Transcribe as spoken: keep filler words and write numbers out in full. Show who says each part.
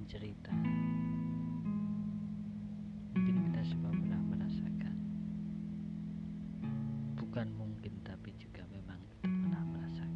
Speaker 1: cerita. Mungkin kita semua pernah merasakan. Bukan mungkin, tapi juga memang kita pernah merasakan.